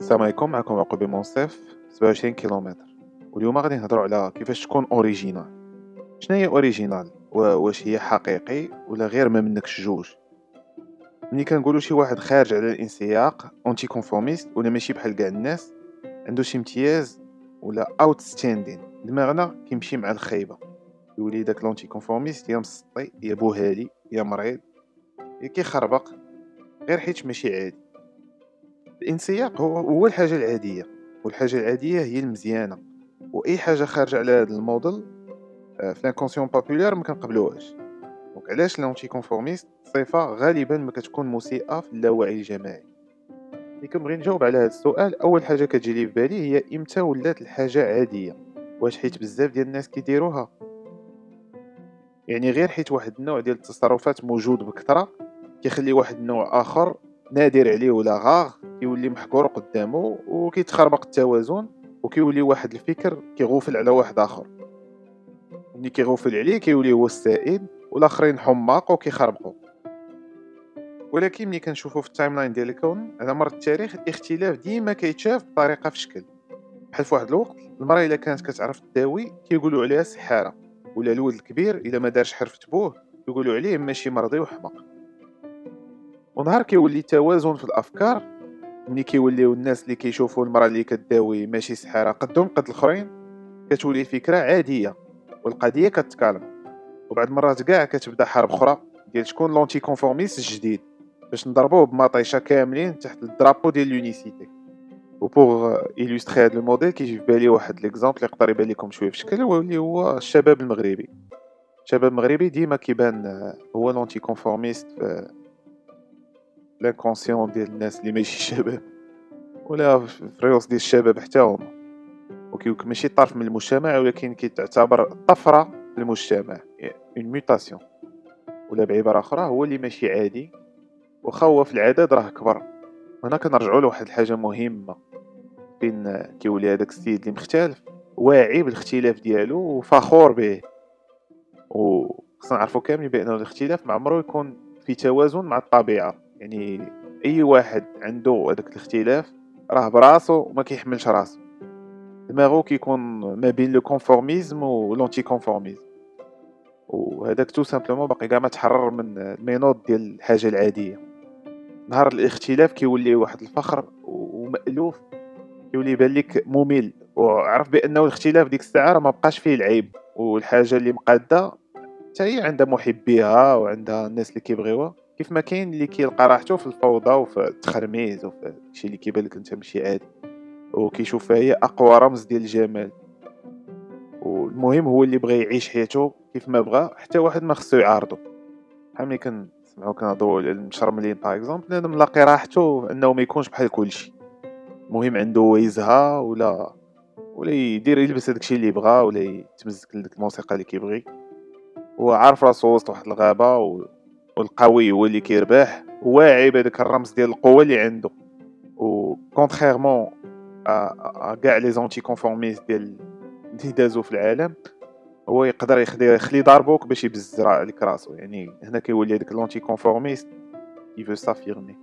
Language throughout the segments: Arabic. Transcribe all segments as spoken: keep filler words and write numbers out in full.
السلام عليكم. معكم عقبي منصف سبعة وعشرين كيلومتر، واليوم غادي نهضروا على كيفاش تكون اوريجينال. شنو هي اوريجينال؟ واش هي حقيقي ولا غير ما منكش جوج؟ ملي كنقولوا شي واحد خارج على الانسياق، اونتي كونفورميست ولا ماشي بحال كاع الناس، عنده شي امتياز ولا اوت ستاندين، دماغنا كيمشي مع الخايبه، يولي داك لونتي كونفورميست يا مسطي يا بوهالي يا مريض يا كيخربق غير حيت ماشي عادي. الانسياق هو هو الحاجه العاديه، والحاجه العاديه هي المزيانه، واي حاجه خارجه على هذا الموديل آه، في لانكونسيون بوبولير ما كنقبلوهاش. دونك علاش لونتي كونفورميست صفه غالبا ما كتكون مسيئه في اللاوعي الجماعي؟ ملي كنبغي نجاوب على هذا السؤال، اول حاجه كتجي لي في بالي هي امتى ولات الحاجه عاديه؟ واش حيت بزاف ديال الناس كيديروها؟ يعني غير حيت واحد النوع ديال التصرفات موجود بكثره كيخلي واحد النوع اخر نادر عليه ولا غاغ كيولي محقور قدامه وكيتخربق التوازن، وكيولي واحد الفكر كيغوفل على واحد اخر. ملي كيغوفل عليه كيولي هو السائد والاخرين حماق وكيخربقوا. ولكن ملي كنشوفوا في التايم لاين ديال الكون على مر التاريخ، الاختلاف ديما كيتشاف بطريقه في شكل. بحال في واحد الوقت المراه الا كانت كتعرف تداوي كيقولوا عليها سحاره، ولا الولد الكبير الا ما دارش حرفة بوه يقولوا عليه ماشي مرضي وحمق. ونهار كيولي توازن في الافكار، ملي كيوليو الناس اللي كيشوفوا المراه اللي كداوي ماشي سحاره قدهم قد الاخرين، كتولي الفكره عاديه والقضيه كتكالم. وبعد مرات كاع كتبدا حرب اخرى ديال شكون لونتي كونفورميست الجديد، باش نضربوه بمطيشه كاملين تحت الدرابو ديال لونيسيتي. وبوغ إيلوستري هاد الموديل كيجي في بالي واحد ليكزامبل يقدر يبان لكم شويه في شكل، هو اللي هو الشباب المغربي. الشباب المغربي ديما كيبان آه، هو لونتي كونفورميست في لانكونسيون ديال الناس اللي ماشي شباب، ولا في الريوس ديال الشباب حتى هما. وكيكون ماشي طرف من المجتمع، ولكن كيتعتبر طفره في المجتمع، اون ميوتاسيون. ولا بعباره اخرى هو اللي ماشي عادي، واخا هو في العدد راه كبر. هنا كنرجعوا لواحد الحاجه مهمه، فين كيولي هذاك السيد اللي مختلف واعي بالاختلاف ديالو وفخور به. وخصنا نعرفوا كاملين بان الاختلاف ما عمره يكون في توازن مع الطبيعه. يعني اي واحد عنده هذاك الاختلاف راه براسو وما كيحملش راسو، دماغو كيكون ما بين لو كونفورميزم و لونتي كونفورميزم. وهذاك تو سامبلومون باقي كاع ما تحرر من المينود ديال الحاجه العاديه. نهار الاختلاف كيولي واحد الفخر ومألوف، كيولي يبان لك ممل، وعرف بانه الاختلاف ديك الساعه راه ما بقاش فيه العيب، والحاجه اللي مقاده حتى هي عندها محبيها وعندها الناس اللي كيبغيوها، كيف ما كاين اللي كيلقى راحته في الفوضى وفي التخرميز وفي الشيء اللي كيبان لك انت ماشي عادي، وكيشوفها هي اقوى رمز ديال الجمال. والمهم هو اللي بغى يعيش حياته كيف ما بغى، حتى واحد ما خصو يعارضه. بحال ملي كنسمعوا كنهضروا على المشرملين باغ اكزومبل، بنادم ملاقي راحته انه ما يكونش بحال كلشي. المهم عنده هو يزهى ولا ولا يدير يلبس هذاك الشيء اللي بغا، ولا يتمزك لديك الموسيقى اللي كيبغي. هو عارف راسو وسط واحد الغابه و... والقوي هو اللي كيربح، واعي بهذاك الرمز ديال القوه اللي عنده. و كونتريرمون ا كاع لي زونتي كونفورميست ديال اللي دازو في العالم، هو يقدر يخلي يخلي ضربوك باش يبزر عليك راسو. يعني هنا كيولي هذاك لونتي كونفورميست كيفو سافيرمي.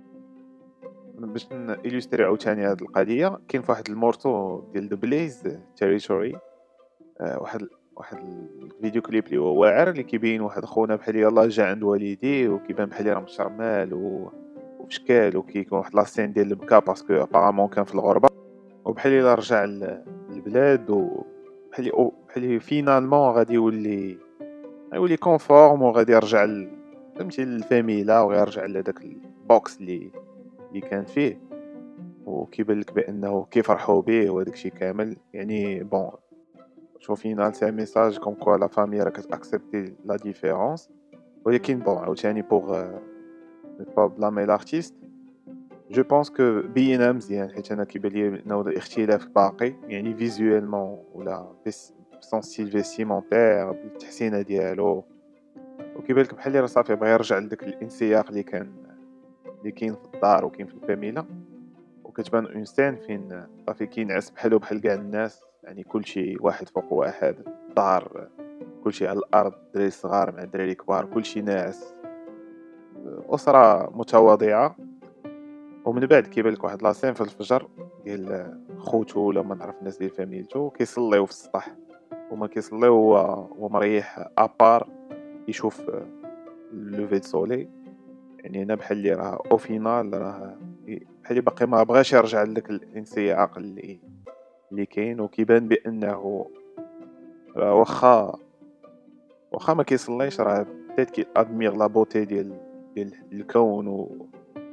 باش نيلوستري عاوتاني هاد القضيه، كاين فواحد المورتو ديال ذا بليز تيريتوري، واحد واحد الفيديو كليب اللي هو واعر، اللي كيبين واحد خونا بحال يلاه جا عند والديه وكيبان بحال راه مشرمال و وفشكال، وكيكون واحد لاسين ديال البكا باسكو ابارامون كان في الغربه، وبحال الا رجع للبلاد، وبحال بحال فينالمون غادي يولي غيولي كونفورم، وغادي يرجع ل... فهمتي للفاميلا، ويرجع لهداك البوكس اللي اللي كان فيه. وكيبان لك بانه كيفرحوا به وهداك الشيء كامل. يعني بون شوف فينال سي ميساج كوم كوا لا فامي راه كتاكسبتي لا ديفيرونس. ولكن بون عاوتاني بوغ با بلامي لارتيست، جو بونس كو بينا مزيان، حيت انا كيبان لي انه الاختلاف باقي، يعني فيزوالمون ولا بسون ستيل فيستيمونتير بالتحسينه ديالو. وكيبان لك بحال راه صافي بغى يرجع لذاك الانسياق اللي كان اللي كاين في الدار وكاين في الفاميلا. وكتبان اون سين فين صافي كينعس بحالو بحال كاع الناس، يعني كلشي واحد فوق واحد، الدار كلشي على الارض، الدراري الصغار مع الدراري الكبار كلشي ناعس، اسره متواضعه. ومن بعد كيبان لك واحد لاسين في الفجر ديال خوتو ولا ما نعرف الناس ديال فاميلتو كيصليو في السطح، هما كيصليو هو هو مريح ابار يشوف لوفي دو سولي. يعني هنا بحال اللي راه او فينال راه بحال اللي باقي ما بغاش يرجع لك الانسياق اللي اللي كاين، وكيبان بانه راه واخا واخا ما كيصليش راه بيتيت كي ادمير لا بوتي ديال ديال الكون و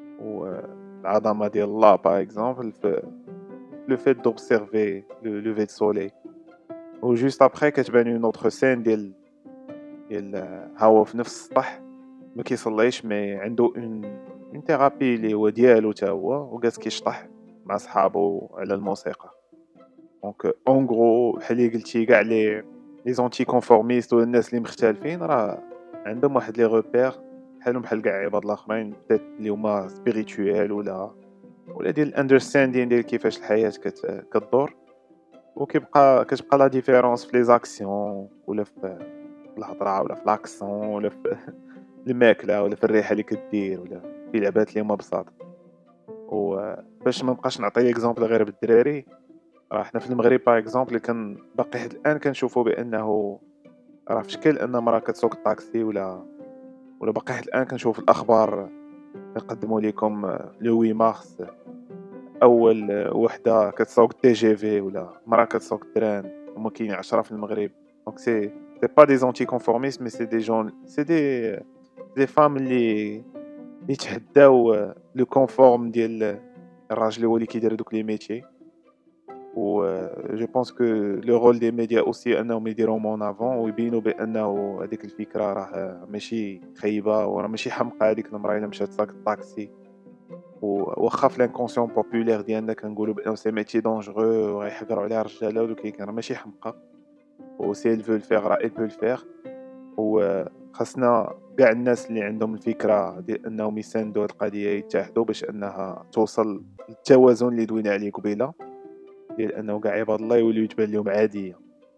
والعظمه ديال الله باغ اكزومبل في لو فيت دوبسيرفي لو لوفي دو سولي. و جوست ابخي كتبان اون اوتر سين ديال ديال ها هو في نفس السطح ما كيصليش مي عنده اون اون ثيرابي اللي هو ديالو حتى هو، وجالس كيشطح مع صحابو على الموسيقى. دونك اون غرو بحال اللي قلتي كاع لي لي زونتي كونفورميست ولا الناس اللي مختلفين راه عندهم واحد لي روبير بحالهم بحال كاع عباد الاخرين بيت اللي هما سبيريتويال ولا ولا ديال الاندرستاندين ديال كيفاش الحياه كت... كدور. وكيبقى كتبقى لا ديفيرونس في لي زاكسيون ولا في الهضره ولا في لاكسون ولا في الماكله ولا في الريحه اللي كدير ولا في لعبات اللي هما بساط. وباش ما نبقاش نعطي اكزومبل غير بالدراري، راه حنا في المغرب باغ اكزومبل كان باقي حتى الان كنشوفوا بانه راه في شكل ان مرا كتسوق الطاكسي ولا ولا باقي حتى الان كنشوف الاخبار كنقدموا لكم لو ثمانية مارس اول وحده كتسوق تي جي في ولا مرا كتسوق التران، هما كاينين عشرة في المغرب. دونك سي سي با دي زونتي كونفورميست مي سي دي جون سي دي دي فام اللي يتحداو لو كونفورم ديال الراجل اللي هو اللي كيدير دوك لي ميتي. و جو بونس كو لو رول دي ميديا اوسي انهم يديروا مون افون ويبينوا بانه هذيك الفكره راه ماشي خايبه وراه ماشي حمقى هذيك المراه الا مشات تساق الطاكسي. وواخا في لانكونسيون بوبولير ديالنا كنقولوا بانه سي ميتي دونجرو وغيحقروا عليها الرجاله ولكن راه ماشي حمقى، و سي il veut le faire راه il peut le faire. وخاصنا كاع الناس اللي عندهم الفكره ديال انهم يساندوا هذه القضيه يتحدوا باش انها توصل للتوازن اللي دوينا عليه قبيله، ديال انه كاع عباد الله يوليو يتبان لهم عاديه.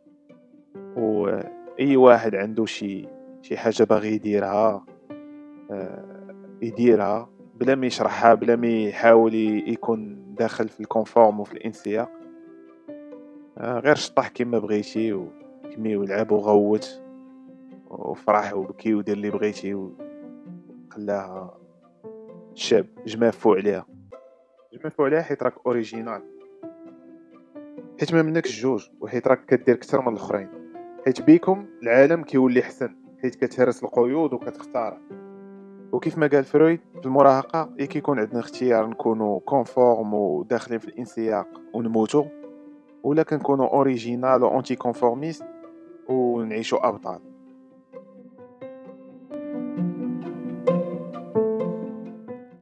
واي واحد عنده شي شي حاجه باغي يديرها آه، يديرها بلا ما يشرحها بلا ما يحاول يكون داخل في الكونفورم وفي الانسياق. آه، غير شطح كما بغيتي وكمي ولعب وغوت وفرح وبكي ودير اللي بغيتي وخلاها شاب جمافو عليها جمافو عليها حيت راك اوريجينال، حيت ما منكش جوج، وحيت راك كدير اكثر من الاخرين، حيت بيكم العالم كيولي حسن حيت كتهرس القيود وكتختار. وكيف ما قال فرويد في المراهقه اي كيكون عندنا اختيار نكونوا كونفورم وداخلين في الانسياق ونموتوا، ولا كنكونوا اوريجينال وانتي كونفورميست ونعيشوا ابطال.